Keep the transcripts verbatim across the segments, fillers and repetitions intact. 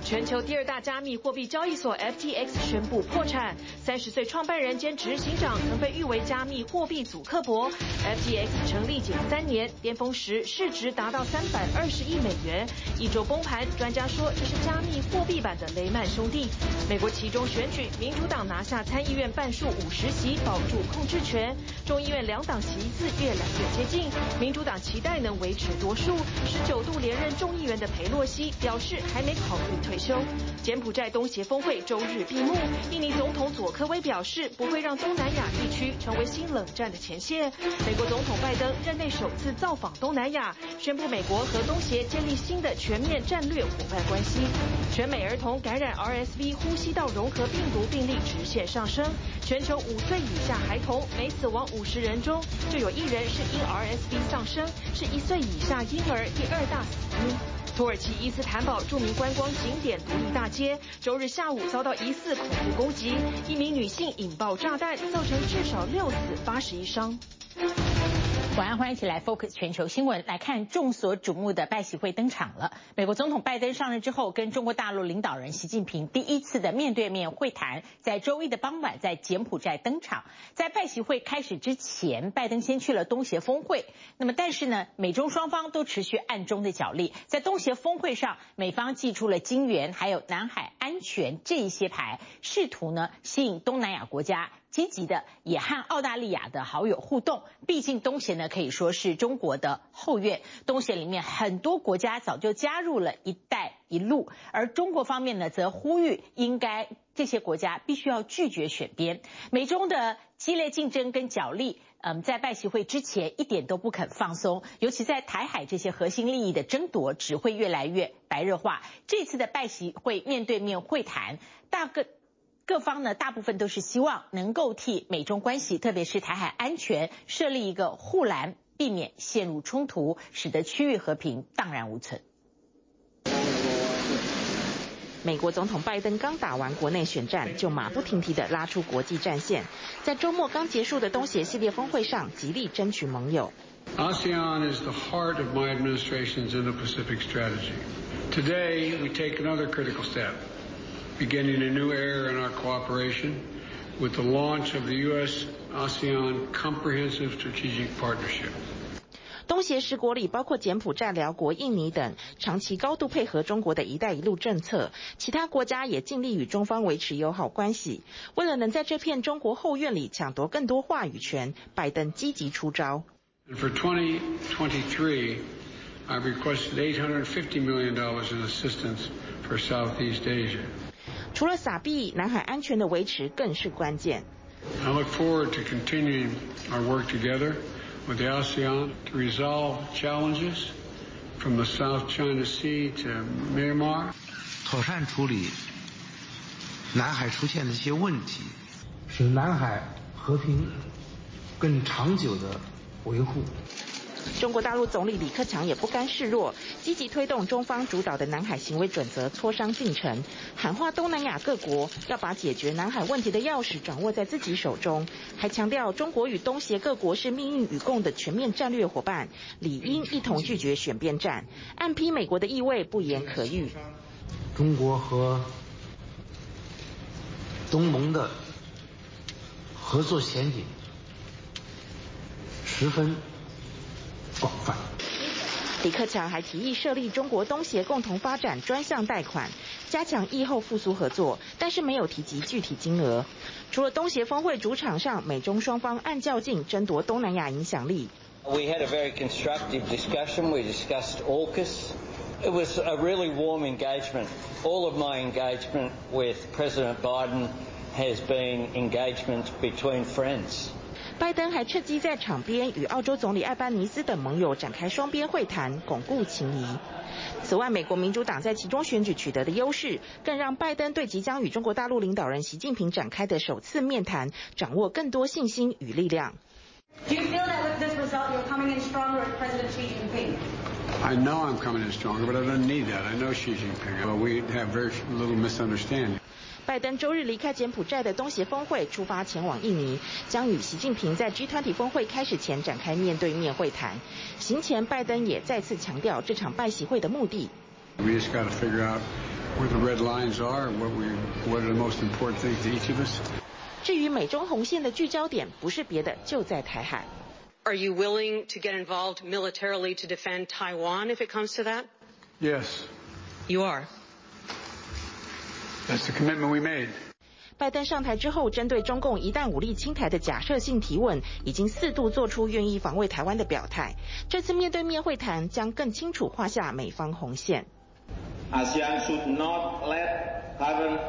全球第二大加密貨幣交易所 F T X 宣布破產。三十歲創辦人兼執行長曾被譽為加密貨幣祖克伯。F T X 成立僅三年，巔峰時市值達到三百二十億美元。一周崩盤，專家說這是加密貨幣版的雷曼兄弟。美國期中選舉，民主黨拿下參議院半數五十席，保住控制權。眾議院兩黨席次越來越接近，民主黨期待能維持多數。十九度連任眾議員的裴洛西表示還沒考慮退休。柬埔寨東協峰會周日閉幕，印尼總統佐科威表示不會讓東南亞地區成為新冷戰的前線。美國總統拜登任內首次造訪東南亞，宣布美國和東協建立新的全面戰略夥伴關係。全美兒童感染 R S V 呼吸道融合病毒病例直線上升，全球五歲以下孩童每死亡五十人中就有一人是因 R S V 喪生，是一歲以下嬰兒第二大死因。土耳其伊斯坦堡著名觀光景點獨立大街周日下午遭到疑似恐怖攻擊，一名女性引爆炸彈，造成至少六死八十一傷。 晚安，歡迎一起來 Focus 全球新聞，來看眾所矚目的拜習會登場了。美國總統拜登上任之後，跟中國大陸領導人習近平第一次的面對面會談，在周一的傍晚在柬埔寨登場。在拜習會開始之前，拜登先去了東協峰會。那麼，但是呢，美中雙方都持續暗中的角力。在東協峰會上，美方祭出了金援，還有南海安全這一些牌，試圖呢吸引東南亞國家積極的也和澳大利亞的好友互動，畢竟東協呢可以說是中國的後院。東協裡面很多國家早就加入了一帶一路，而中國方面呢則呼籲應該這些國家必須要拒絕選邊。美中的激烈競爭跟角力，嗯，在拜習會之前一點都不肯放鬆，尤其在台海這些核心利益的爭奪只會越來越白熱化。這次的拜習會面對面會談，大個。各方呢，大部分都是希望能夠替美中關係，特別是台海安全設立一個護欄，避免陷入衝突，使得區域和平蕩然無存。 美國總統拜登剛打完國內選戰，就馬不停蹄地拉出國際戰線，在週末剛結束的東協系列峰會上，極力爭取盟友。 ASEAN is the heart of my administration's Indo-Pacific strategy. Today, we take another critical step, beginning a new era in our cooperation with the launch of the U S ASEAN Comprehensive Strategic Partnership. 東協十國裡包括柬埔寨、寮國、印尼等，長期高度配合中國的一帶一路政策。其他國家也盡力與中方維持友好關係。為了能在這片中國後院裡搶奪更多話語權，拜登積極出招。 For twenty twenty-three, I've requested eight hundred fifty million dollars in assistance for Southeast Asia. 除了撒幣，南海安全的維持更是關鍵。 I look forward to continuing our work together with the ASEAN to resolve challenges from the South China Sea to Myanmar. 妥善處理南海出現的一些問題， 使南海和平更長久的維護。 中國大陸總理李克強也不甘示弱，積極推動中方主導的南海行為準則磋商進程，喊話東南亞各國要把解決南海問題的鑰匙掌握在自己手中，還強調中國與東協各國是命運與共的全面戰略夥伴，理應一同拒絕選邊站，暗批美國的意味不言可喻。 中國和東盟的合作前景十分廣泛。 李克強還提議設立中國東協共同發展專項貸款，加強疫後復甦合作，但是沒有提及具體金額。除了東協峰會主場上，美中雙方暗較勁爭奪東南亞影響力。 We had a very constructive discussion. We discussed AUKUS. It was a really warm engagement. All of my engagement with President Biden has been engagement between friends. 拜登還趁機在場邊與澳洲總理艾班尼斯等盟友展開雙邊會談，鞏固情誼。此外，美國民主黨在其中選舉取得的優勢，更讓拜登對即將與中國大陸領導人習近平展開的首次面談，掌握更多信心與力量。 Do you feel that with this result you're coming in stronger as President Xi Jinping? I know I'm coming in stronger, but I don't need that. I know Xi Jinping. Well, we have very little misunderstanding. 拜登周日離開柬埔寨的東協峰會，出發前往印尼，將與習近平在 G 二十 峰會開始前展開面對面會談。行前，拜登也再次強調這場拜習會的目的。 We just got to figure out where the red lines are, what we, what are the most important things to each of us. 至於美中紅線的聚焦點，不是別的，就在台海。 Are you willing to get involved militarily to defend Taiwan if it comes to that? Yes. You are. That's the commitment we made. 拜登上台之後，針對中共一旦武力侵台的假設性提問，已經四度做出願意防衛台灣的表態。這次面對面會談將更清楚畫下美方紅線。 ASEAN should not let current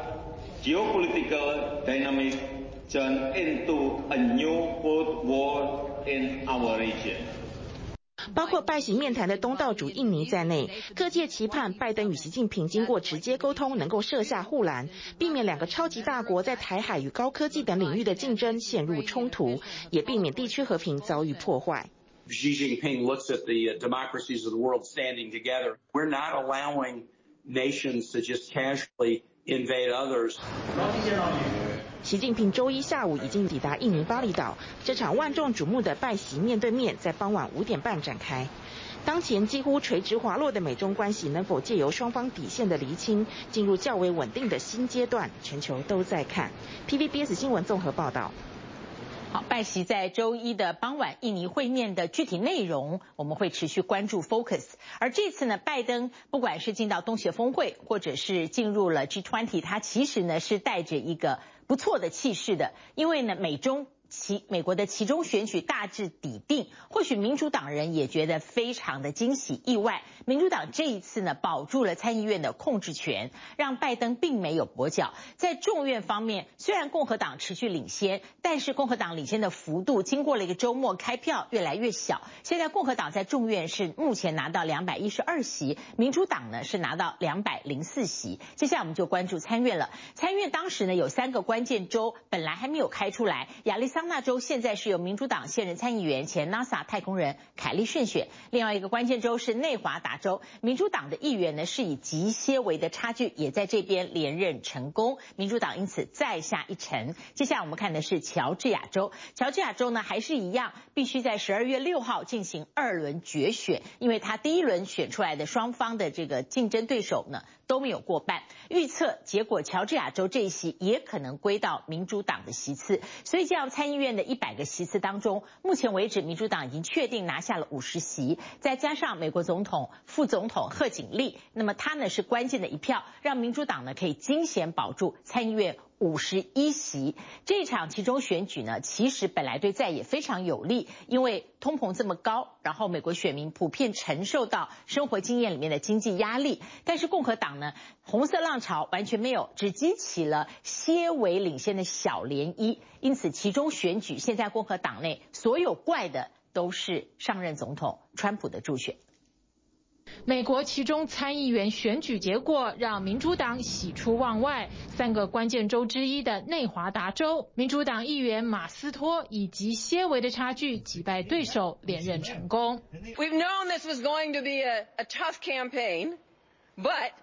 geopolitical dynamics turn into a new Cold War in our region. 包括拜習面談的東道主印尼在內，各界期盼拜登與習近平經過直接溝通，能夠設下護欄，避免兩個超級大國在台海與高科技等領域的競爭陷入衝突，也避免地區和平遭遇破壞。 Xi Jinping looks at the democracies of the world standing together. We're not allowing nations to just casually invade others. 習近平周一下午已經抵達印尼巴厘島，這場萬眾矚目的拜習面對面在傍晚五點半展開。當前幾乎垂直滑落的美中關係能否借由雙方底線的釐清，進入較為穩定的新階段，全球都在看。P V B S 新聞綜合報道。 好，拜習在周一的傍晚印尼會面的具體內容，我們會持續關注 Focus。而這次呢，拜登不管是進到東協峰會，或者是進入了 G 二十，他其實呢是帶着一個不錯的氣勢的，因為呢美中其美國的期中選舉大致底定，或許民主黨人也覺得非常的驚喜意外。民主黨這一次呢保住了參議院的控制權，讓拜登並沒有跛腳。在眾院方面，雖然共和黨持續領先，但是共和黨領先的幅度經過了一個週末開票越來越小。現在共和黨在眾院是目前拿到兩百一十二席，民主黨呢是拿到兩百零四席。接下來我們就關注參院了。參院當時呢有三個關鍵州本來還沒有開出來，亞利桑那州現在是由民主黨現任參議員前 NASA 太空人凱利勝選，另外一個關鍵州是內華達州，民主黨的議員呢是以極些微的差距也在這邊連任成功，民主黨因此再下一城。接下來我們看的是喬治亞州，喬治亞州呢還是一樣，必須在十二月六號進行二輪決選，因為他第一輪選出來的雙方的這個競爭對手呢都沒有過半，預測結果喬治亞州這一席也可能歸到民主黨的席次，所以這樣參議院的一百個席次當中，目前為止民主黨已經確定拿下了五十席，再加上美國總統副總統賀錦麗，那麼他呢是關鍵的一票，讓民主黨呢可以驚險保住參議院五十一席。這場期中選舉呢，其實本來對在野非常有利，因為通膨這麼高，然後美國選民普遍承受到生活經驗裡面的經濟壓力，但是共和黨呢，紅色浪潮完全沒有，只激起了些微領先的小漣漪，因此期中選舉現在共和黨內所有怪的都是上任總統川普的助選。 美國期中參議員選舉結果讓民主黨喜出望外，三個關鍵州之一的內華達州，民主黨議員馬斯托以極些微的差距擊敗對手，連任成功。 We've known this was going to be a, a tough campaign, but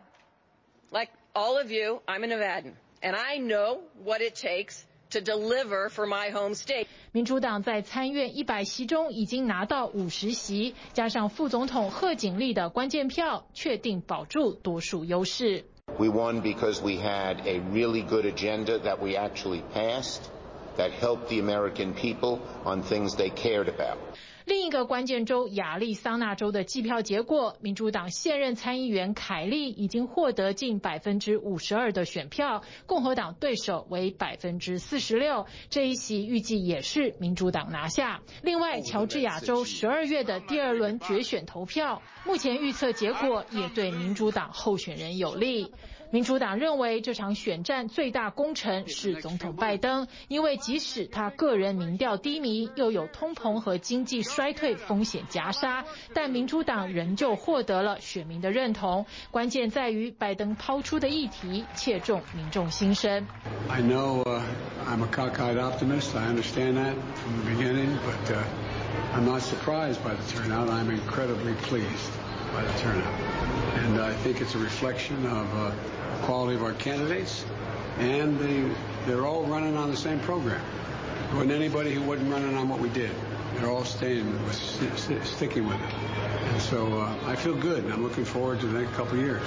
like all of you, I'm a Nevadan, and I know what it takes to deliver for my home state. 民主黨在參院一百席中已經拿到五十席，加上副總統賀錦麗的關鍵票，確定保住多數優勢。 We won because we had a really good agenda that we actually passed, that helped the American people on things they cared about. 另一個關鍵州亞利桑那州的計票結果，民主黨現任參議員凱利已經獲得近百分之五十二的選票，共和黨對手為百分之四十六，這一席預計也是民主黨拿下。另外，喬治亞州十二月的第二輪決選投票，目前預測結果也對民主黨候選人有利。民主黨認為這場選戰最大功臣是總統拜登，因為即使他個人民調低迷，又有通膨和經濟衰退風險夾殺，但民主黨仍舊獲得了選民的認同。關鍵在於拜登拋出的議題切中民眾心聲。 I know, uh, I'm a cockeyed optimist. I understand that from the beginning, but uh, I'm not surprised by the turnout. I'm incredibly pleased by the turnout, and I think it's a reflection of uh, the quality of our candidates, and the, they're all running on the same program. There wasn't anybody who wasn't running on what we did. They're all staying with, sticking with it, and so uh, I feel good. And I'm looking forward to the next couple of years.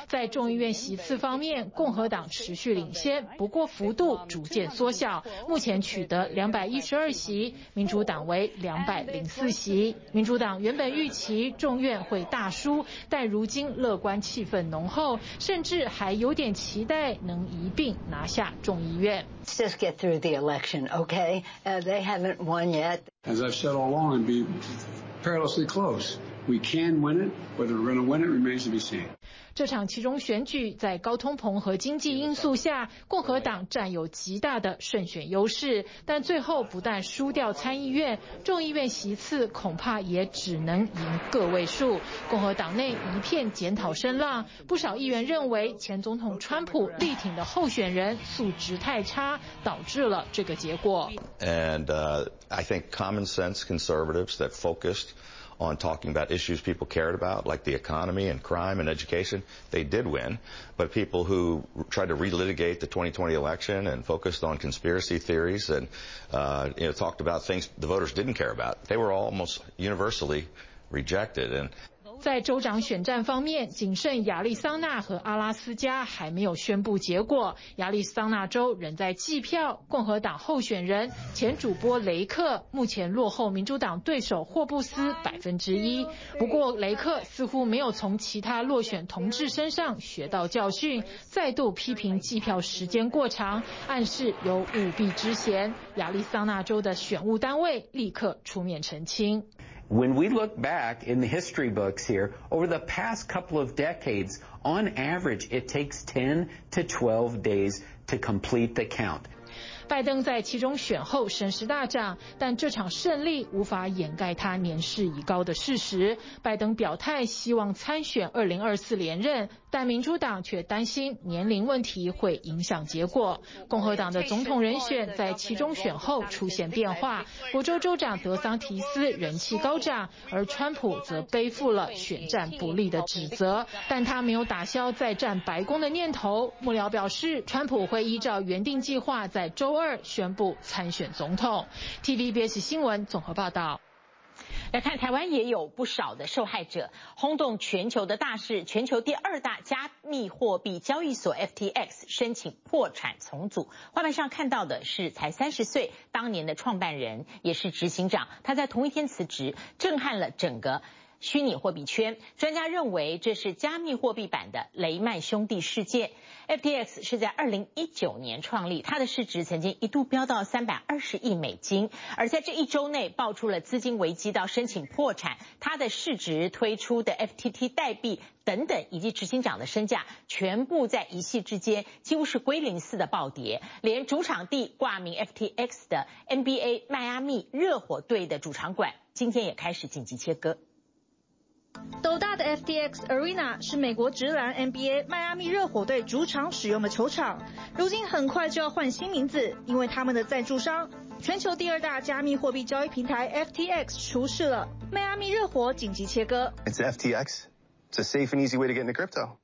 在眾議院席次方面，共和黨持續領先，不過幅度逐漸縮小，目前取得兩百一十二席，民主黨為兩百零四席。民主黨原本預期眾院會大輸，但如今樂觀氣氛濃厚，甚至還有點期待能一併拿下眾議院。 Let's just get through the election, okay? Uh, they haven't won yet. As I've said all along, it'd be perilously close. We can win it. Whether we're going to win it remains to be seen. 這場期中選舉在高通膨和經濟因素下，共和黨佔有極大的勝選優勢，但最後不但輸掉參議院，眾議院席次恐怕也只能贏個位數。共和黨內一片檢討聲浪，不少議員認為前總統川普力挺的候選人素質太差，導致了這個結果。 And uh, I think common sense conservatives that focused on talking about issues people cared about, like the economy and crime and education, they did win. But people who tried to relitigate the twenty twenty election and focused on conspiracy theories and uh, you know, talked about things the voters didn't care about, they were almost universally rejected. And 在州長選戰方面，僅剩亞利桑那和阿拉斯加還沒有宣布結果。亞利桑那州仍在計票，共和黨候選人前主播雷克目前落後民主黨對手霍布斯百分之一。不過雷克似乎沒有從其他落選同志身上學到教訓，再度批評計票時間過長，暗示有舞弊之嫌。亞利桑那州的選務單位立刻出面澄清。 When we look back in the history books here, over the past couple of decades, on average, it takes ten to twelve days to complete the count. 拜登在其中選後聲勢大漲，但這場勝利無法掩蓋他年事已高的事實。拜登表態希望參選二零二四連任，但民主黨卻擔心年齡問題會影響結果。共和黨的總統人選在其中選後出現變化，佛州州長德桑提斯人氣高漲，而川普則背負了選戰不利的指責，但他沒有打消再戰白宮的念頭。幕僚表示，川普會依照原定計劃在周二宣布參選總統。T V B S 新聞綜合報道。 來看台灣也有不少的受害者，轟動全球的大事，全球第二大加密貨幣交易所 F T X 申請破產重組。畫面上看到的是才三十歲，當年的創辦人也是執行長，他在同一天辭職，震撼了整個虛擬貨幣圈。專家認為這是加密貨幣版的雷曼兄弟事件。F T X 是在二零一九年創立，它的市值曾經一度飆到三百二十億美金，而在這一周內爆出了資金危機到申請破產，它的市值、推出的 F T T 代幣等等，以及執行長的身價，全部在一夕之間幾乎是歸零似的暴跌，連主場地掛名 F T X 的 N B A 邁阿密熱火隊的主場館今天也開始緊急切割。 斗大的 F T X Arena 是美國職籃 N B A 邁阿密熱火隊主場使用的球場，如今很快就要換新名字，因為他們的贊助商全球第二大加密貨幣交易平台 F T X 出事了，邁阿密熱火緊急切割。 It's F T X. It's a safe and easy way to get into crypto.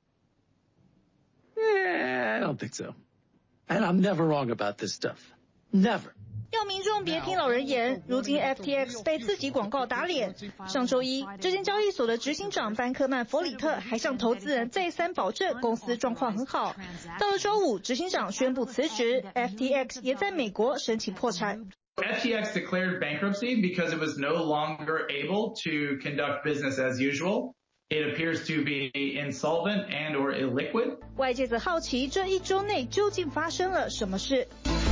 Yeah, I don't think so. And I'm never wrong about this stuff. Never. 要民眾別聽老人言，如今 F T X 被自己廣告打臉。上周一，這間交易所的執行長班克曼·弗里特還向投資人再三保證公司狀況很好。到了周五，執行長宣布辭職 ，F T X 也在美國申請破產。 F T X declared bankruptcy because it was no longer able to conduct business as usual. It appears to be insolvent and or illiquid. 外界則好奇這一周內究竟發生了什麼事。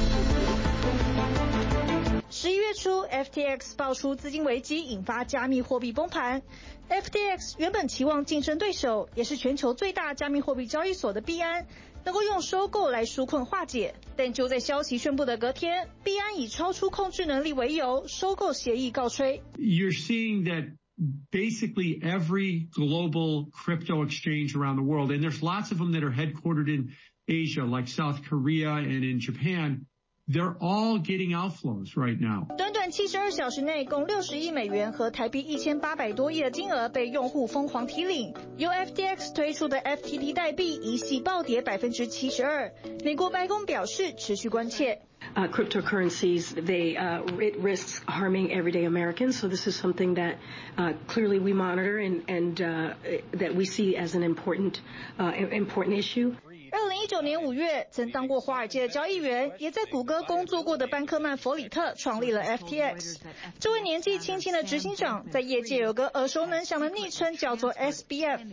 十一月初 ，F T X 爆出資金危機，引發加密貨幣崩盤。F T X 原本期望競爭對手，也是全球最大加密貨幣交易所的幣安，能夠用收購來紓困化解。但就在消息宣布的隔天，幣安以超出控制能力為由，收購協議告吹。 You're seeing that basically every global crypto exchange around the world, and there's lots of them that are headquartered in Asia, like South Korea and in Japan.They're all getting outflows right now. 短短七十二小時內，共六十億美元和台幣一千八百多億的金額被用戶瘋狂提領。由 F T X 推出的 F T T 代幣一夕暴跌百分之七十二。美國白宮表示持續關切。 Uh, cryptocurrencies, they uh, it risks harming everyday Americans. So this is something that uh, clearly we monitor and, and uh, that we see as an important uh, important issue. 二零一九年五月，曾当過華爾街的交易員，也在谷歌工作過的班克曼·弗里特創立了 F T X。這位年紀輕輕的執行長，在業界有個耳熟能詳的昵稱，叫做 S B F。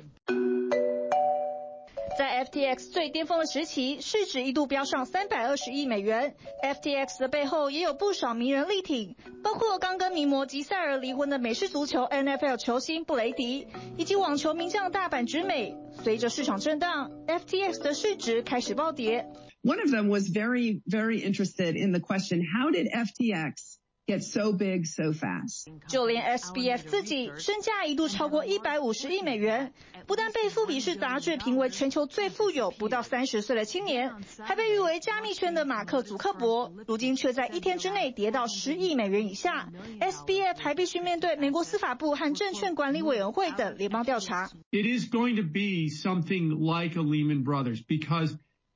在 F T X 最巔峰的時期，市值一度飆上三百二十億美元。F T X 的背後也有不少名人力挺，包括剛跟名模吉賽爾離婚的美式足球 N F L 球星布雷迪，以及網球名將大阪直美。隨着市場震盪 ，F T X 的市值開始暴跌。 One of them was very, very interested in the question, how did F T X get so big so fast? 就連 S B F 自己身價一度超過一百五十億美元，不但被富比士雜誌評為全球最富有不到三十歲的青年，還被譽為加密圈的馬克·祖克伯，如今卻在一天之內跌到十億美元以下。S B F 還必須面對美國司法部和證券管理委員會的聯邦調查。 It is going to be something like a Lehman Brothers because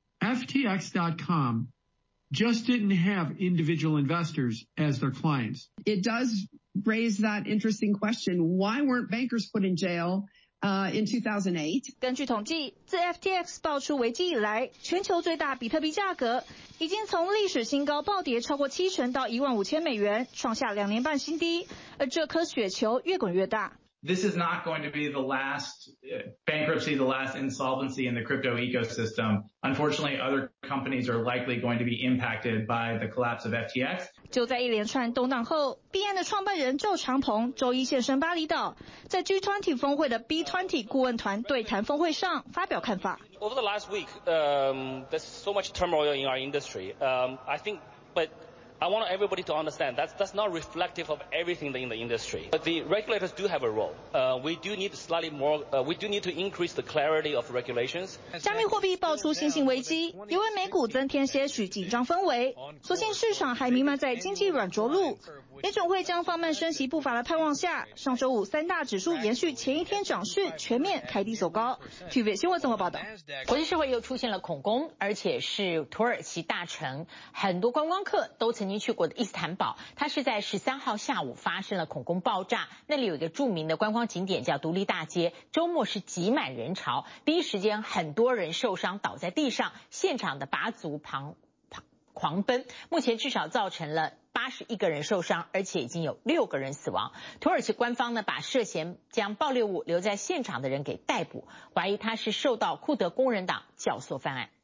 F T X dot com just didn't have individual investors as their clients. It does raise that interesting question. Why weren't bankers put in jail uh, in two thousand eight? 根據統計，自 F T X 爆出危機以來，全球最大比特幣價格已經從歷史新高暴跌超過七成到一萬五千美元，創下兩年半新低。而這顆雪球越滾越大。 This is not going to be the last bankruptcy, the last insolvency in the crypto ecosystem. Unfortunately, other companies are likely going to be impacted by the collapse of F T X. 就在一連串動盪後，幣安的創辦人趙長鵬周一現身巴厘島，在 G 二十 峰會的 B 二十 顧問團對談峰會上發表看法。 Over the last week, um, there's so much turmoil in our industry. Um, I think, but I want everybody to understand that's that's not reflective of everything in the industry. But the regulators do have a role. Uh, we do need slightly more. Uh, we do need to increase the clarity of regulations. 加密貨幣爆出新興危機，也為美股增添些許緊張氛圍。所幸市場還彌漫在經濟軟着陸，聯準會將放慢升息步伐的盼望下，上週五三大指數延續前一天漲勢，全面開低走高。T V B 新聞綜合報道。 國際社會又出現了恐攻，而且是土耳其大城，很多觀光客都曾經去過的伊斯坦堡，它是在十三號下午發生了恐攻爆炸。那裡有一個著名的觀光景點叫獨立大街，週末是擠滿人潮，第一時間很多人受傷倒在地上，現場的鈸族旁狂奔，目前至少造成了八十一個人受傷，而且已經有六個人死亡。土耳其官方呢，把涉嫌將爆裂物留在現場的人給逮捕，懷疑他是受到庫德工人黨教唆犯案。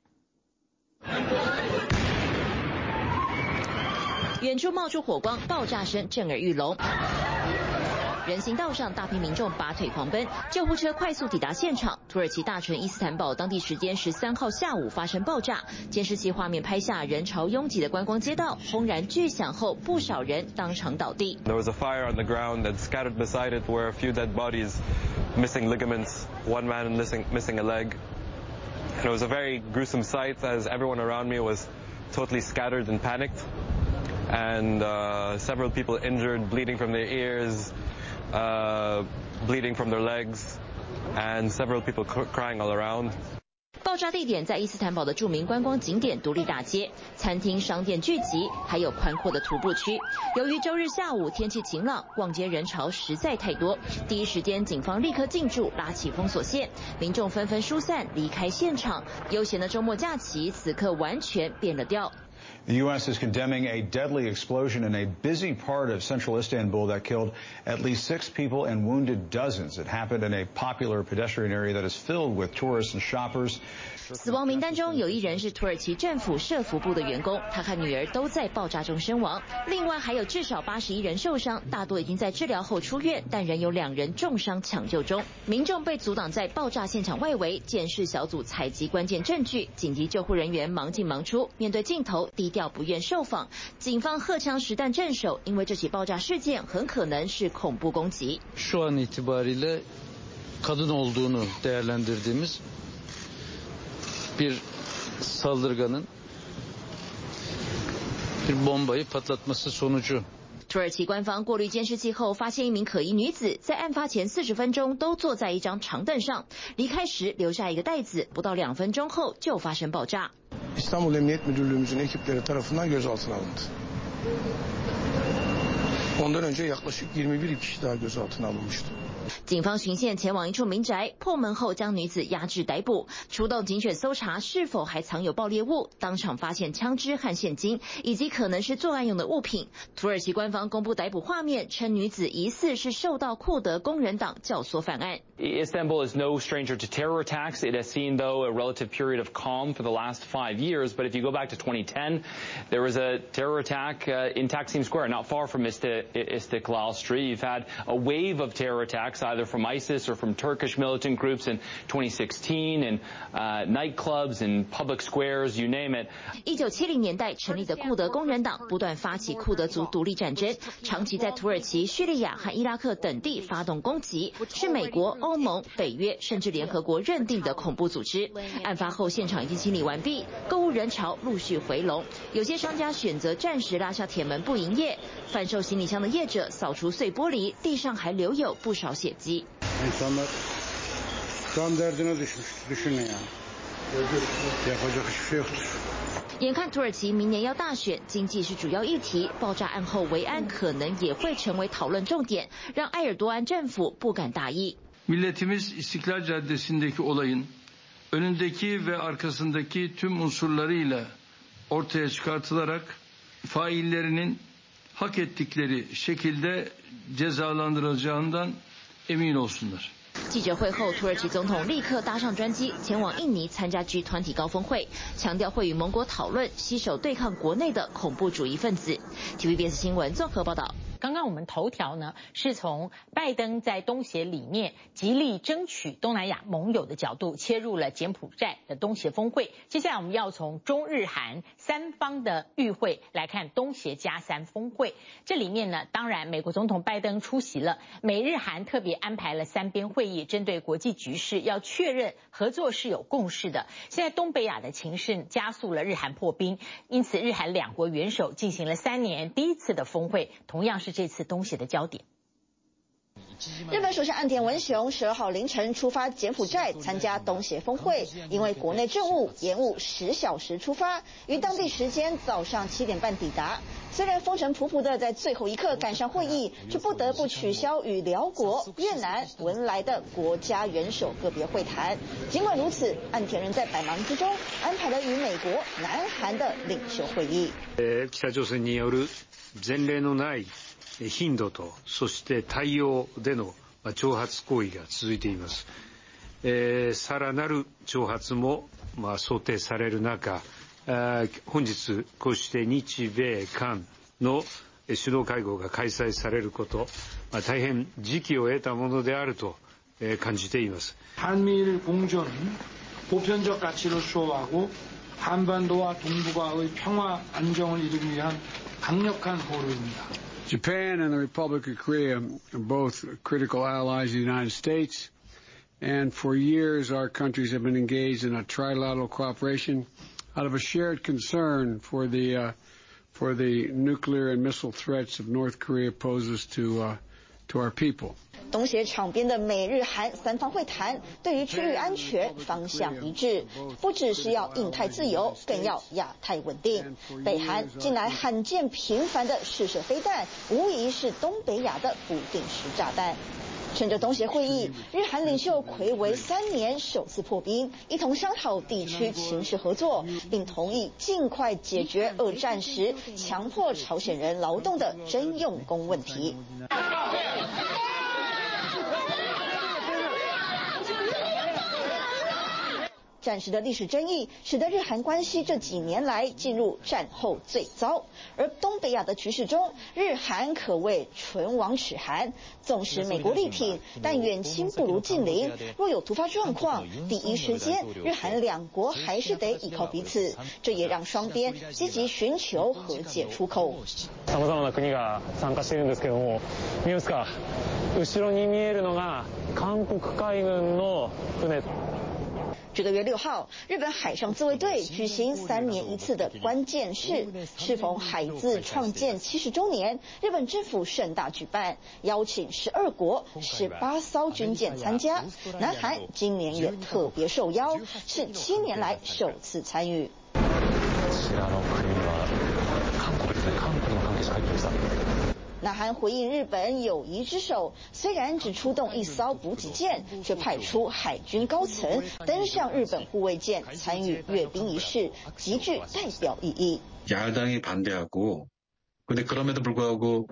遠處冒出火光，爆炸聲震耳欲聾。人行道上大批民眾拔腿狂奔，救護車快速抵達現場。土耳其大城伊斯坦堡當地時間十三號下午發生爆炸，監視器畫面拍下人潮擁擠的觀光街道，轟然巨響後，不少人當場倒地。 There was a fire on the ground and scattered beside it were a few dead bodies, missing ligaments, one man missing missing a leg. And it was a very gruesome sight as everyone around me was totally scattered and panicked. And uh, several people injured, bleeding from their ears, uh, bleeding from their legs, and several people crying all around. 爆炸地點在伊斯坦堡的著名觀光景點獨立大街，餐廳、商店聚集，還有寬闊的徒步區。由於週日下午天氣晴朗，逛街人潮實在太多，第一時間警方立刻進駐，拉起封鎖線，民眾紛紛疏散離開現場。悠閒的週末假期此刻完全變了調。 The U S is condemning a deadly explosion in a busy part of central Istanbul that killed at least six people and wounded dozens. It happened in a popular pedestrian area that is filled with tourists and shoppers. 死亡名單中有一人是土耳其政府社福部的員工，他和女兒都在爆炸中身亡。另外還有至少八十一人受傷，大多已經在治療後出院，但仍有兩人重傷搶救中。民眾被阻擋在爆炸現場外圍，鑑識小組採集關鍵證據，緊急救護人員忙進忙出，面對鏡頭低調不願受訪。警方荷槍實彈鎮守，因為這起爆炸事件很可能是恐怖攻擊。 Şu an itibariyle kadın olduğunu değerlendirdiğimiz bir saldırganın bir bombayı patlatması sonucu。 土耳其官方過濾監視器後，發現一名可疑女子在案發前四十分鐘都坐在一張長凳上，離開時留下一個袋子，不到兩分鐘後就發生爆炸。 İstanbul Emniyet Müdürlüğümüzün ekipleri tarafından gözaltına alındı. Ondan önce yaklaşık yirmi bir kişi daha gözaltına alınmıştı。 警方循線前往一處民宅，破門後將女子押至逮捕，出動警犬搜查是否還藏有爆裂物，當場發現槍支和現金，以及可能是作案用的物品。土耳其官方公布逮捕畫面，稱女子疑似是受到庫德工人黨教唆犯案。 Istanbul is no stranger to terror attacks. It has seen, though, a relative period of calm for the last five years. But if you go back to twenty ten, there was a terror attack uh, in Taksim Square, not far from Istiklal Street. You've had a wave of terror attacks, either from ISIS or from Turkish militant groups in twenty sixteen, and uh, nightclubs and public squares, you name it. 一九七零年代成立的庫德工人黨不斷發起庫德族獨立戰爭，長期在土耳其、敘利亞和伊拉克等地發動攻擊，是美國、歐盟、北約甚至聯合國認定的恐怖組織。案發後現場已經清理完畢，購物人潮陸續回籠，有些商家選擇暫時拉下鐵門不營業，販售行李箱的業者掃除碎玻璃，地上還留有不少血跡。 İnsanlar can derdine düşmüş. Düşünün yani. Yapacak hiçbir şey yoktur. 眼看土耳其明年要大選，經濟是主要議題，爆炸案後維安可能也會成為討論重點，讓埃爾多安政府不敢大意。 Milletimiz İstiklal Caddesi'ndeki olayın önündeki ve arkasındaki tüm unsurlarıyla ortaya çıkartılarak faillerinin hak ettikleri şekilde cezalandırılacağından emin olsunlar。 記者會後，土耳其總統立刻搭上專機前往印尼參加 G 團體高峰會，強調會與盟國討論攜手對抗國內的恐怖主義分子。T V B S 新聞綜合報道。 剛剛我們頭條呢是從拜登在東協裡面極力爭取東南亞盟友的角度切入了柬埔寨的東協峰會，接下來我們要從中日韓三方的與會來看東協加三峰會。這裡面呢，當然美國總統拜登出席了，美日韓特別安排了三邊會議，針對國際局勢要確認合作是有共識的。現在東北亞的情勢加速了日韓破冰，因此日韓兩國元首進行了三年第一次的峰會，同樣是這次東協的焦點。 日本首相岸田文雄十二號凌晨出發柬埔寨參加東協峰會，因為國內政務延誤十小時出發，於當地時間早上七點半抵達。雖然風塵僕僕的在最後一刻趕上會議，卻不得不取消與寮國、越南、文萊的國家元首個別會談。儘管如此，岸田仍在百忙之中安排了與美國、南韓的領袖會議。 北朝鮮による前例のない頻度と、そして対応での挑発行為が続いています。えー、さらなる挑発も、まあ、想定される中、本日こうして日米韓の首脳会合が開催されること、まあ、大変時機を得たものであると感じています。 한미일 공존은 보편적 가치를 수호하고 한반도와 동북아의 평화 안정을 이루기 위한 강력한 보루입니다. Japan and the Republic of Korea are both critical allies of the United States, and for years our countries have been engaged in a trilateral cooperation out of a shared concern for the uh, for the nuclear and missile threats of North Korea poses to uh, to our people. 東協場邊的美日韓三方會談，對於區域安全方向一致，不只是要印太自由，更要亞太穩定。北韓近來罕見頻繁的試射飛彈，無疑是東北亞的不定時炸彈。趁着東協會議，日韓領袖睽違三年首次破冰，一同商討地區情勢合作，並同意盡快解決二戰時強迫朝鮮人勞動的徵用工問題。戰時的歷史爭議使得日韓關係這幾年來進入戰後最糟，而東北亞的局勢中，日韓可謂唇亡齒寒。縱使美國力挺，但遠親不如近鄰，若有突發狀況，第一時間日韓兩國還是得依靠彼此。這也讓雙邊積極尋求和解出口。 さまざまな國が參加しているんですけども、見ますか、後ろに見えるのが韓國海軍の船。 這個月六號，日本海上自衛隊舉行三年一次的關鍵式，適逢海自創建七十週年，日本政府盛大舉辦，邀請十二國十八艘軍艦參加。南韓今年也特別受邀，是七年來首次參與。 ちらの国には韓国ですね、韓国の関係者入ってました。 南韓回應日本友誼之手，雖然只出動一艘補給艦，卻派出海軍高層登上日本護衛艦參與閱兵儀式，極具代表意義。 야당이 반대하고, 근데 그럼에도 불구하고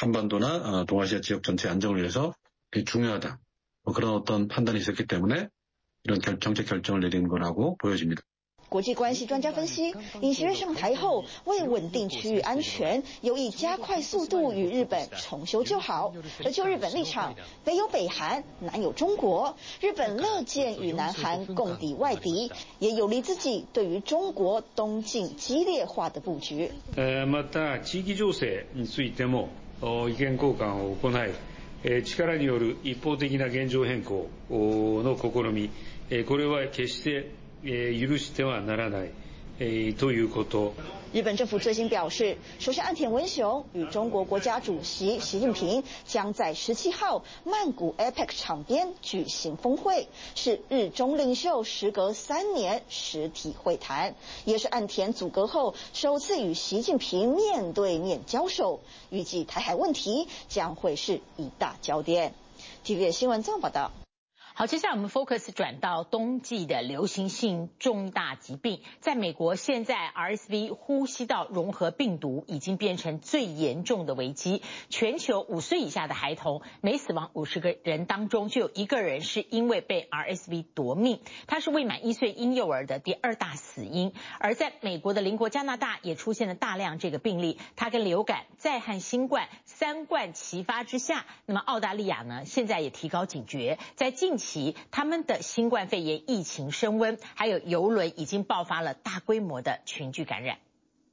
한반도나 동아시아 지역 전체 안정을 위해서 중요하다. 뭐 그런 어떤 판단이 있었기 때문에 이런 결, 정책 결정을 내린 거라고 보여집니다. 國際關係專家分析，尹錫悅上台後，為穩定區域安全，有意加快速度與日本重修舊好。而就日本立場，北有北韓，南有中國，日本樂見與南韓共抵外敵，也有利自己對於中國東進激烈化的布局。 また地域情勢についても意見交換を行い、力による一方的な現狀変更の試み、これは決して許してはならないということ。 日本政府最新表示，首相岸田文雄與中國國家主席習近平將在十七號曼谷 A P E C 場邊舉行峰會，是日中領袖時隔三年實體會談，也是岸田組閣後首次與習近平面對面交手。預計台海問題將會是一大焦點。T V B 新聞綜合報道。 好，接下來我們 focus 轉到冬季的流行性重大疾病。在美國，現在 R S V 呼吸道融合病毒已經變成最嚴重的危機。全球五歲以下的孩童，每死亡五十個人當中就有一個人是因為被 R S V 奪命。它是未滿一歲嬰幼兒的第二大死因。而在美國的鄰國加拿大也出現了大量這個病例。它跟流感再和新冠三冠齊發之下，那麼澳大利亞呢，現在也提高警覺，在近期他們的新冠肺炎疫情升溫，還有郵輪已經爆發了大規模的群聚感染。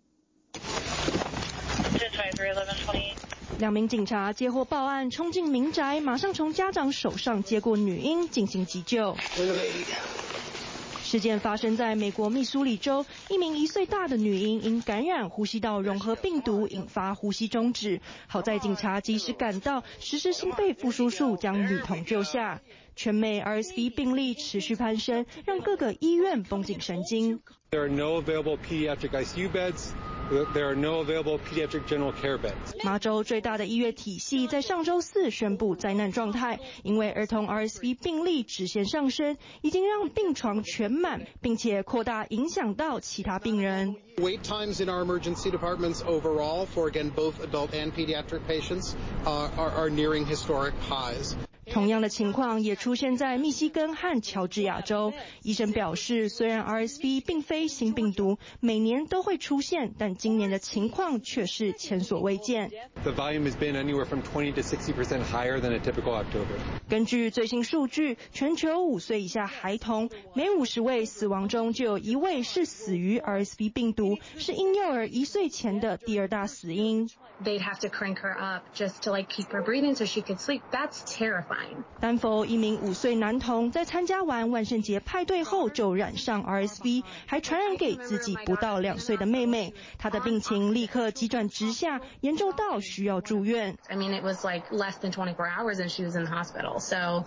兩名警察接獲報案，衝進民宅，馬上從家長手上接過女嬰進行急救。事件發生在美國密蘇里州，一名一歲大的女嬰因感染呼吸道融合病毒引發呼吸中止，好在警察及時趕到，實施心肺復甦術將女童救下。全美 R S V 病例持續攀升，讓各個醫院繃緊神經。 There are no available pediatric I C U beds. There are no available pediatric general care beds. 麻州最大的醫院體系在上周四宣布災難狀態，因為兒童 R S V 病例直線上升，已經讓病床全滿，並且擴大影響到其他病人。 Wait times in our emergency departments overall for again both adult and pediatric patients uh, are, are nearing historic highs. 同樣的情況也出現在密西根和喬治亞州。醫生表示，雖然 R S V 並非新病毒，每年都會出現，但今年的情況卻是前所未見。 The volume has been anywhere from twenty to sixty percent higher than a typical October. 根據最新數據，全球五歲以下孩童每五十位死亡中就有一位是死於 R S V 病毒，是嬰幼兒一歲前的第二大死因。 They'd have to crank her up just to like keep her breathing so she could sleep. That's terrifying. 丹佛一名五歲男童在參加完萬聖節派對後就染上 R S V， 還傳染給自己不到兩歲的妹妹。他的病情立刻急轉直下，嚴重到需要住院。 I mean, it was like less than twenty-four hours and she was in the hospital. So,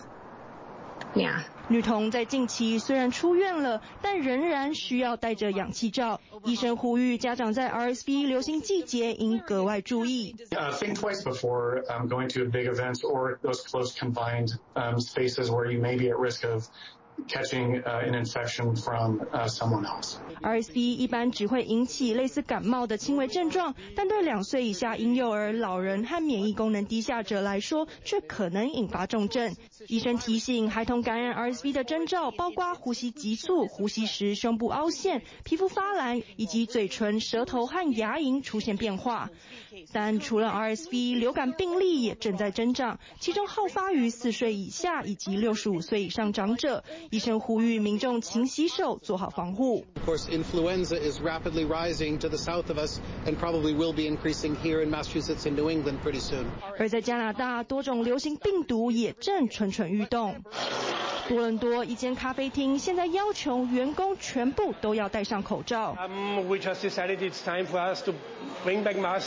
yeah. 女童在近期雖然出院了，但仍然需要戴着氧氣罩。醫生呼籲家長在 R S V 流行季節應格外注意。 Uh, think twice before um, going to big events or those close confined um, spaces where you may be at risk of catching uh, an infection from uh, someone else. R S V 一般只會引起類似感冒的輕微症狀，但對兩歲以下嬰幼兒、老人和免疫功能低下者來說，卻可能引發重症。醫生提醒，孩童感染 R S V 的徵兆包括呼吸急促、呼吸時胸部凹陷、皮膚發藍，以及嘴唇、舌頭和牙齦出現變化。但除了 R S V， 流感病例也正在增長，其中好發於四歲以下以及六十五歲以上長者。醫生呼籲民眾勤洗手，做好防護。 Of course, influenza is rapidly rising to the south of us and probably will be increasing here in Massachusetts and New England pretty soon. 而在加拿大，多種流行病毒也正蠢蠢欲動。多倫多一間咖啡廳現在要求員工全部都要戴上口罩。 Um, we just decided it's time for us to bring back masks.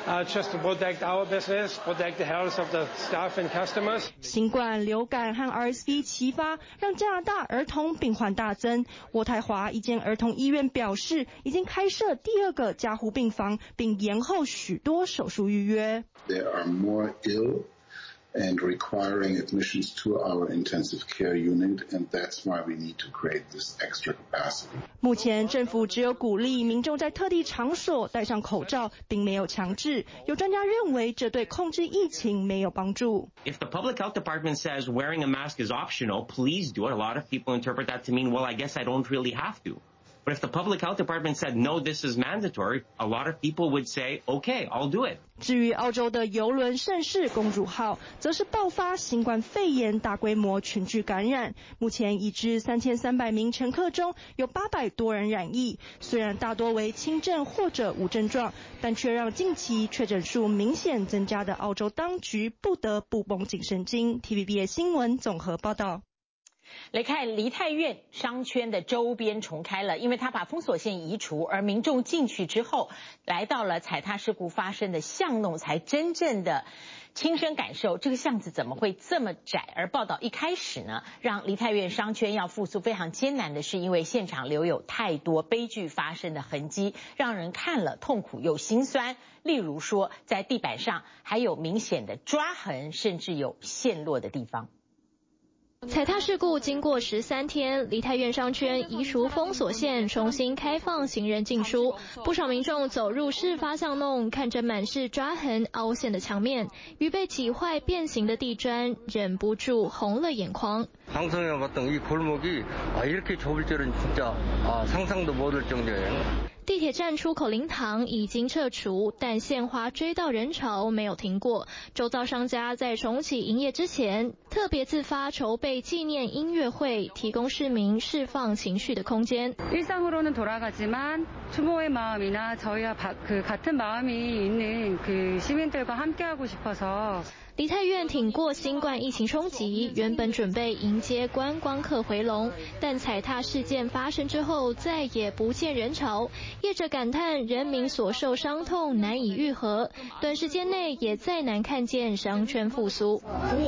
uh, just to protect our business, protect the health of the staff and customers. 新冠、流感和 R S V 齊發，讓加拿大兒童病患大增。渥太華一間兒童醫院表示，已經開設第二個加護病房，並延後許多手術預約。 There are more ill and requiring admissions to our intensive care unit, and that's why we need to create this extra capacity. 目前政府只有鼓勵民眾在特定場所戴上口罩，並沒有強制。有專家認為，這對控制疫情沒有幫助。 If the public health department says wearing a mask is optional, please do it. A lot of people interpret that to mean, well, I guess I don't really have to. But if the public health department said, no, this is mandatory, a lot of people would say, okay, I'll do it. 至於澳洲的郵輪盛世公主號，則是爆發新冠肺炎大規模群聚感染。目前已知三千三百名乘客中有八百多人染疫，雖然大多為輕症或者無症狀，但卻讓近期確診數明顯增加的澳洲當局不得不繃緊神經。T V B S 新聞綜合報道。 來看梨泰院商圈的周邊重開了，因為他把封鎖線移除，而民眾進去之後，來到了踩踏事故發生的巷弄，才真正的親身感受這個巷子怎麼會這麼窄。而報道一開始呢，讓梨泰院商圈要復甦非常艱難的是，因為現場留有太多悲劇發生的痕跡，讓人看了痛苦又心酸。例如說，在地板上還有明顯的抓痕，甚至有陷落的地方。 踩踏事故經過十三天，梨泰院商圈移除封鎖線，重新開放行人進出。不少民眾走入事發巷弄，看着滿是抓痕、凹陷的牆面與被擠壞變形的地磚，忍不住紅了眼眶。 방송에 봤던 이 골목이 아 이렇게 좁을 줄은 진짜 아 상상도 못할 정도예요. 地鐵站出口靈堂已經撤除，但獻花追悼人潮沒有停過。周遭商家在重啟營業之前，特別自發籌備紀念音樂會，提供市民釋放情緒的空間。 일상으로는 돌아가지만 추모의 마음이나 저희와 그 같은 마음이 있는 그 시민들과 함께하고 싶어서. 梨泰院挺過新冠疫情衝擊，原本準備迎接觀光客回籠，但踩踏事件發生之後，再也不見人潮。業者感嘆人民所受傷痛難以癒合，短時間內也再難看見商圈復甦。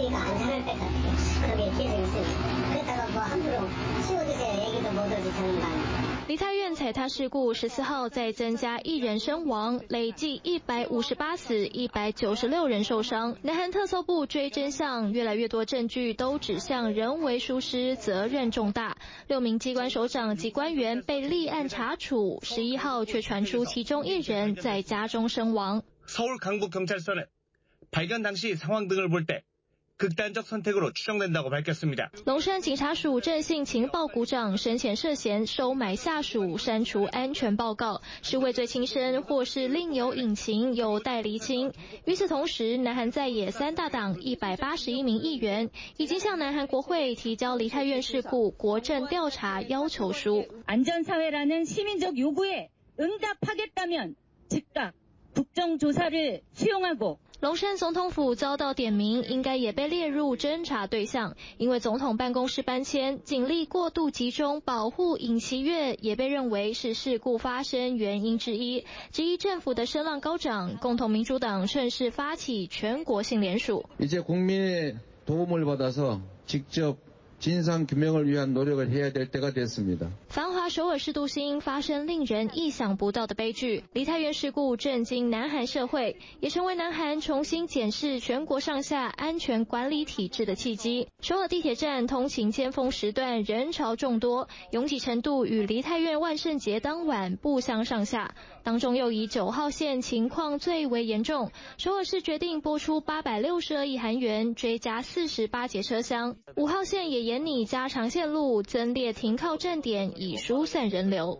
梨泰院踩踏事故十四號再增加一人身亡，累計一百五十八死，一百九十六人受傷。南韓特搜部追真相，越來越多證據都指向人為疏失，責任重大。六名機關首長及官員被立案查處，十一號卻傳出其中一人在家中身亡。 서울 강북경찰서는 발견 당시 상황 등을 볼 때 극단적 선택으로 추정된다고 밝혔습니다. 龍山警察署鄭姓情報股長生前涉嫌收買下屬、刪除安全報告，是畏罪輕生或是另有隱情，有待釐清。與此同時，南韓在野三大黨一百八十一名議員已經向南韓國會提交梨泰院事故國政調查要求書。 안전사회라는 시민적 요구에 응답하겠다면 즉각 국정조사를 수용하고 龍山總統府遭到點名，應該也被列入偵查對象。因為總統辦公室搬遷，警力過度集中保護尹錫悅，也被認為是事故發生原因之一。質疑政府的聲浪高漲，共同民主黨趁勢發起全國性聯署。 이제 국민의 도움을 받아서 직접 진상 규명을 위한 노력을 해야 될 때가 됐습니다. 繁華首爾市都心發生令人意想不到的悲劇，梨泰院事故震驚南韓社會，也成為南韓重新檢視全國上下安全管理體制的契機。首爾地鐵站通勤尖峰時段人潮眾多，擁擠程度與梨泰院萬聖節當晚不相上下。當中又以九號線情況最為嚴重，首爾市決定撥出八百六十二億韓元追加四十八節車廂，五號線也沿擬加長線路，增列停靠站點，以疏散人流。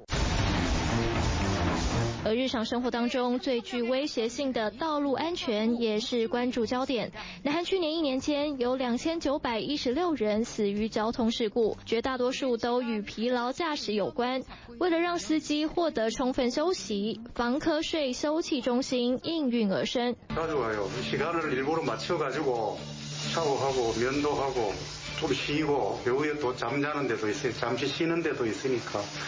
而日常生活當中最具威脅性的道路安全也是關注焦點。南韓去年一年間有兩千九百一十六人死於交通事故，絕大多數都與疲勞駕駛有關。為了讓司機獲得充分休息，防瞌睡休憩中心應運而生。 시간을 일부러 맞춰가지고 샤워하고 면도하고 좀 쉬고 배우에 또 잠자는 데도 있어요. 잠시 쉬는 데도 있으니까.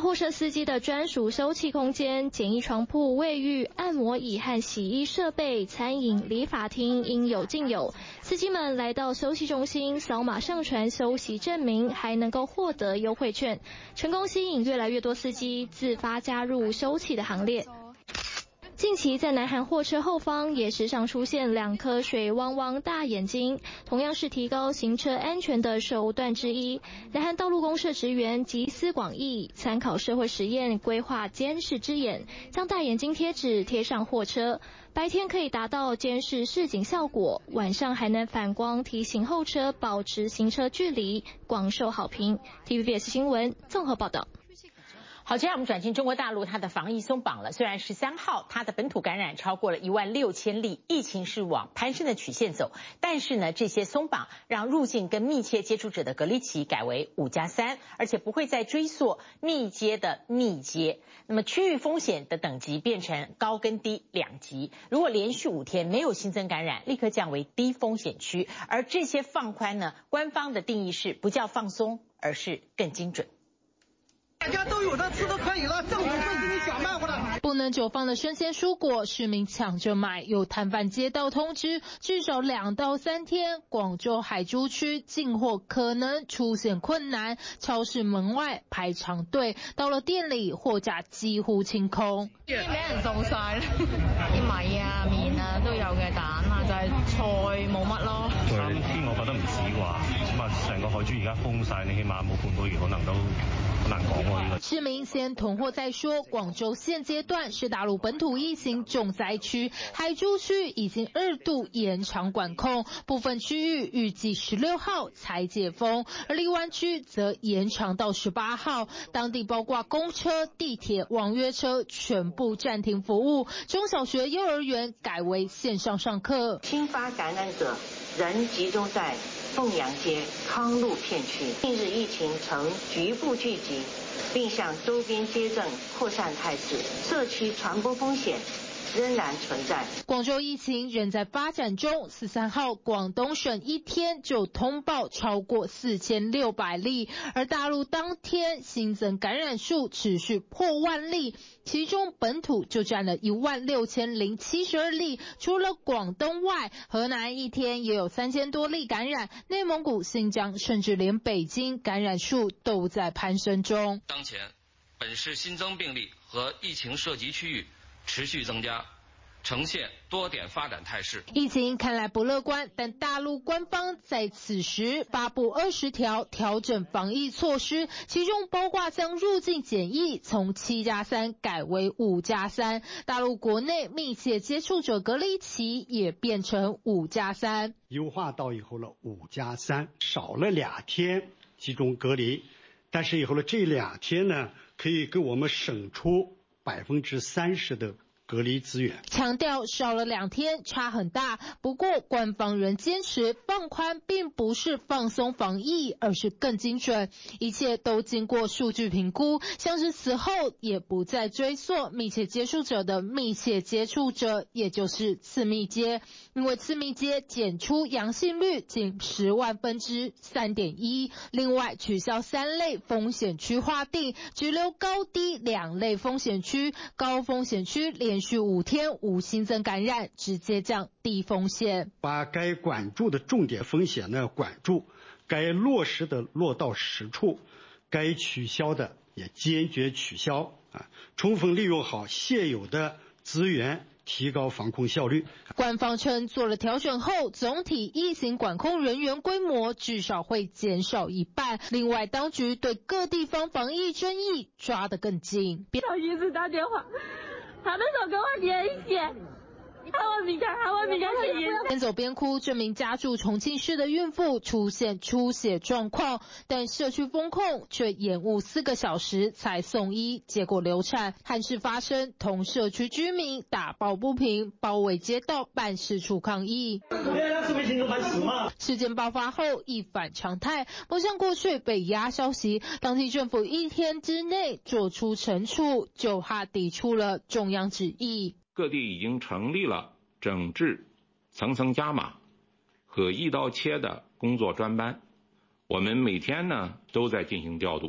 貨車司機的專屬休憩空間、簡易床鋪、衛浴、按摩椅和洗衣設備、餐飲、理髮廳應有盡有。司機們來到休息中心，掃碼上傳休息證明，還能夠獲得優惠券，成功吸引越來越多司機自發加入休憩的行列。近期在南韓貨車後方也時常出現兩顆水汪汪大眼睛，同樣是提高行車安全的手段之一。南韓道路公社職員集思廣益，參考社會實驗規劃監視之眼，將大眼睛貼紙貼上貨車，白天可以達到監視示警效果，晚上還能反光提醒後車保持行車距離，廣受好評。T V B S 新聞綜合報道。 好，接下來我們轉進中國大陸，它的防疫鬆綁了。雖然十三號它的本土感染超過了一萬六千例，疫情是往攀升的曲線走，但是呢，這些鬆綁讓入境跟密切接觸者的隔離期改為五加三，而且不會再追溯密接的密接。那麼區域風險的等級變成高跟低兩級，如果連續五天沒有新增感染，立刻降為低風險區。而這些放寬呢，官方的定義是不叫放鬆，而是更精準。 大家都有的吃都可以了，政府会给你想辦法的。 不能久放的生鮮蔬果，市民搶着買。有攤販接到通知，至少兩到三天，廣州海珠區進貨可能出現困難，超市門外排長隊，到了店裡貨架幾乎清空。 已經俾人掃晒啦，啲米啊、麵啊都有嘅，蛋啊就係菜冇乜咯。 三天我覺得唔止啩，起碼成個海珠而家封晒，你起碼冇半個月可能都好難講喎。 市民先囤貨再說。廣州現階段是大陸本土疫情重災區，海珠區已經二度延長管控，部分區域預計十六號才解封，而荔灣區則延長到十八號。當地包括公車、地鐵、網約車全部暫停服務，中小學、幼兒園改為線上上課。 新發感染者仍集中在鳳陽街、康路片區，近日疫情呈局部聚集，並向周邊街鎮擴散態勢，社區傳播風險仍然存在。 廣州疫情仍在發展中，十三號廣東省一天就通報超過四千六百例，而大陸當天新增感染數持續破萬例，其中本土就佔了一萬六千零七十二例。除了廣東外，河南一天也有三千多例感染，內蒙古、新疆甚至連北京感染數都在攀升中。 當前本市新增病例和疫情涉及區域持續增加，呈現多點發展態勢。 疫情看來不樂觀，但大陸官方在此時發布二十條調整防疫措施，其中包括將入境檢疫從七加三改為五加三，大陸國內密切接觸者隔離期也變成五加三， 優化到以後了五加三，少了兩天集中隔離，但是以後的這兩天呢，可以給我們省出百分之三十的隔離資源， 強調少了兩天差很大。不過官方仍堅持放寬並不是放鬆防疫，而是更精準，一切都經過數據評估，像是此後也不再追溯密切接觸者的密切接觸者，也就是次密接，因為次密接檢出陽性率僅十萬分之三點一。另外取消三類風險區劃定，只留高低兩類風險區，高風險區連連續五天無新增感染，直接降低風險。 把該管住的重點風險呢管住，該落實的落到實處，該取消的也堅決取消啊！充分利用好現有的資源，提高防控效率。 官方稱做了調整後，總體疫情管控人員規模至少會減少一半。另外，當局對各地方防疫爭議抓得更緊。 他一直打電話。他那時候跟我聯繫，喊我離開，喊我離開去醫院。 邊走邊哭，這名家住重慶市的孕婦出現出血狀況，但社區封控卻延誤四個小時才送醫，結果流產。憾事發生，同社區居民打抱不平，包圍街道辦事處抗議。事件爆發後一反常態，不像過去被壓消息，當地政府一天之內做出懲處，就怕抵觸了中央旨意。 各地已經成立了整治、層層加碼和一刀切的工作專班，我們每天呢都在進行調度。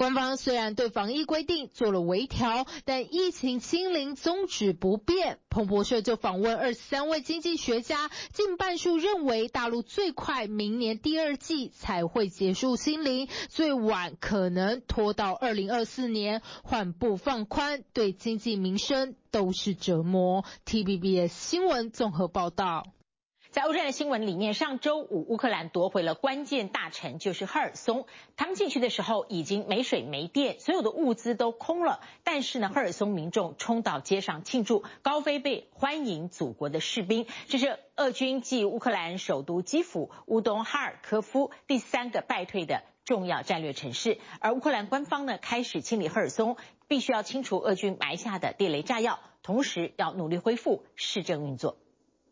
官方雖然對防疫規定做了微調，但疫情清零宗旨不變。彭博社就訪問二十三位經濟學家，近半數認為大陸最快明年第二季才會結束清零，最晚可能拖到二零二四年，緩步放寬，對經濟民生都是折磨。T V B S 新聞綜合報道。 在歐戰的新聞裡面，上周五烏克蘭奪回了關鍵大城，就是赫爾松。他們進去的時候已經沒水沒電，所有的物資都空了。但是呢，赫爾松民眾衝到街上慶祝，高飛被歡迎祖國的士兵。這是俄軍繼烏克蘭首都基輔、烏東哈爾科夫第三個敗退的重要戰略城市。而烏克蘭官方呢，開始清理赫爾松，必須要清除俄軍埋下的地雷炸藥，同時要努力恢復市政運作。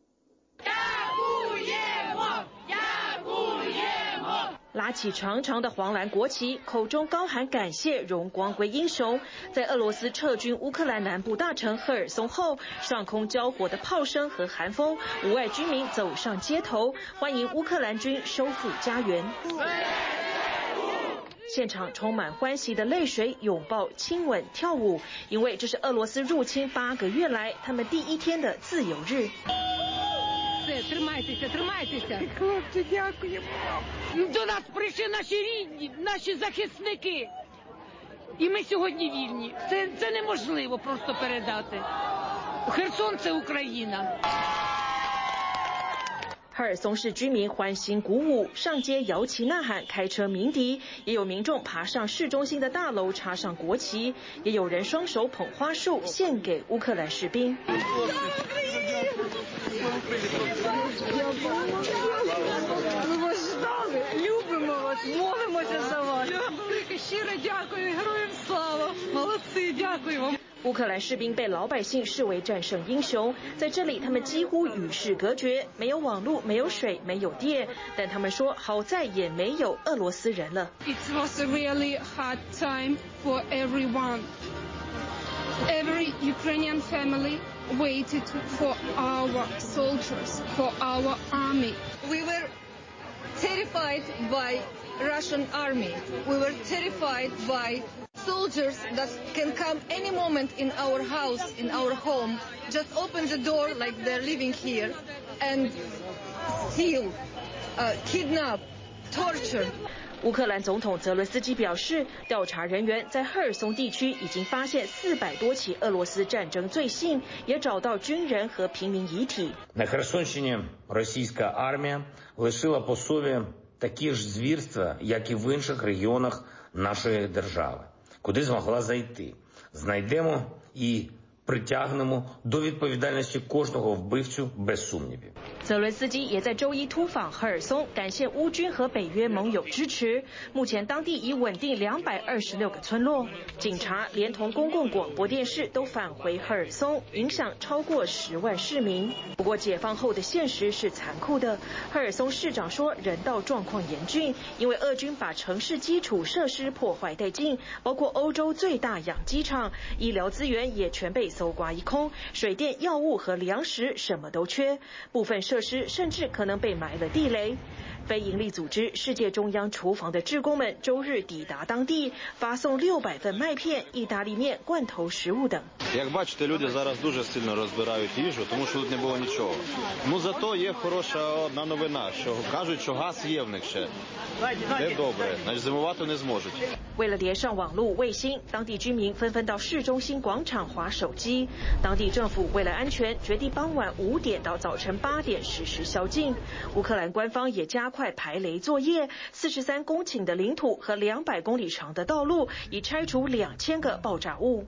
拉起長長的黃藍國旗，口中高喊感謝，榮光歸英雄。在俄羅斯撤軍烏克蘭南部大城赫爾松後，上空交火的炮聲和寒風，無礙居民走上街頭，歡迎烏克蘭軍收復家園。現場充滿歡喜的淚水、擁抱、親吻、跳舞，因為這是俄羅斯入侵八個月來他們第一天的自由日。 Тримайтеся, тримайтеся. Хлопці, дякуємо. До нас прийшли наші рідні, наші захисники. І ми сьогодні вільні. Це, це неможливо просто передати. Херсон – це Україна. 赫爾松市居民歡欣鼓舞，上街搖旗吶喊，開車鳴笛，也有民眾爬上市中心的大樓插上國旗，也有人雙手捧花束獻給烏克蘭士兵。 Ми вас ждали, любимо вас, молимося за вас. Велике щире дякую, героям слава, молодці, дякую вам. 烏克蘭士兵被老百姓視為戰勝英雄，在這裡他們幾乎與世隔絕，沒有網絡，沒有水，沒有電，但他們說好在也沒有俄羅斯人了。 It was a really hard time for everyone. Every Ukrainian family waited for our soldiers, for our army. We were terrified by Russian army. We were terrified by soldiers that can come any moment in our house, in our home, just open the door like they're living here, and steal, uh, kidnap, torture. 烏克蘭總統澤倫斯基表示，調查人員在赫爾松地區已經發現四百多起俄羅斯戰爭罪行，也找到軍人和平民遺體。 На Херсонщині російська армія лишила по собі такі ж звірства, як і в інших регіонах нашої держави. Куди змогла зайти? Знайдемо і притягнемо до відповідальності кожного вбивцю без сумнівів. 澤倫斯基也在周一突訪赫爾松，感謝烏軍和北約盟友支持。目前當地已穩定兩百二十六個村落，警察連同公共廣播電視都返回赫爾松，影響超過十萬市民。不過解放後的現實是殘酷的，赫爾松市長說人道狀況嚴峻，因為俄軍把城市基礎設施破壞殆盡，包括歐洲最大養雞場，醫療資源也全被搜刮一空，水電、藥物和糧食什麼都缺，部分設施甚至可能被埋了地雷。非營利組織世界中央廚房的志工們周日抵達當地，發送六百份麥片、意大利麵、罐頭食物等。 Як бачите, люди зараз дуже сильно розбирають їжу, тому що тут не було нічого. Ну зато є хороша одна новина, що кажуть, що газ є в них ще. Це добре, значить зимувати не зможуть. 為了連上網路衛星，當地居民紛紛到市中心廣場滑手機。當地政府為了安全，決定傍晚五點到早晨八點實施宵禁。烏克蘭官方也加快排雷作業，四十三公頃的領土和兩百公里長的道路已拆除兩千個爆炸物。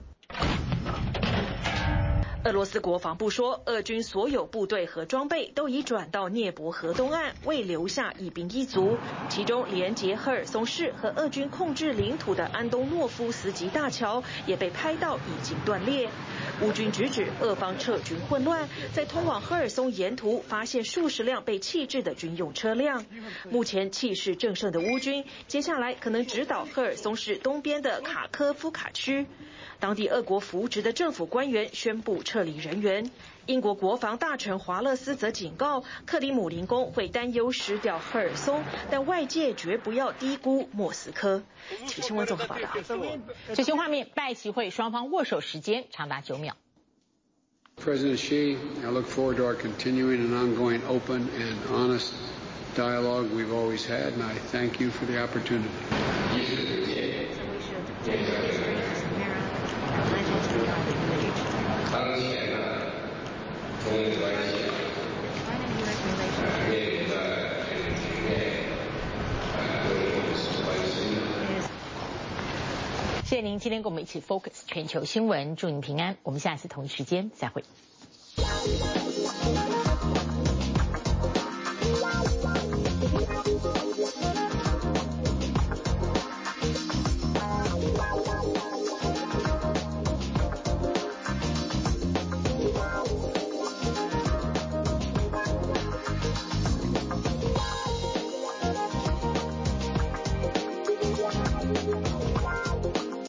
俄羅斯國防部說，俄軍所有部隊和裝備都已轉到聶伯河東岸，未留下一兵一卒。其中連接赫爾松市和俄軍控制領土的安東諾夫斯基大橋也被拍到已經斷裂。烏軍直指俄方撤軍混亂，在通往赫爾松沿途發現數十輛被棄置的軍用車輛。目前氣勢正盛的烏軍，接下來可能直搗赫爾松市東邊的卡科夫卡區。當地俄國扶植的政府官員宣布撤撤離人員。英國國防大臣華勒斯則警告，克里姆林宮會擔憂失掉赫爾松，但外界絕不要低估莫斯科。體新聞綜合報道。 最新畫面，拜習會雙方握手時間長達九秒。 President Xi, I look forward to our continuing and ongoing open and honest dialogue we've always had, and I thank you for the opportunity. 謝謝您今天跟我們一起 Focus 全球新聞，祝您平安。我們下次同一時間再會。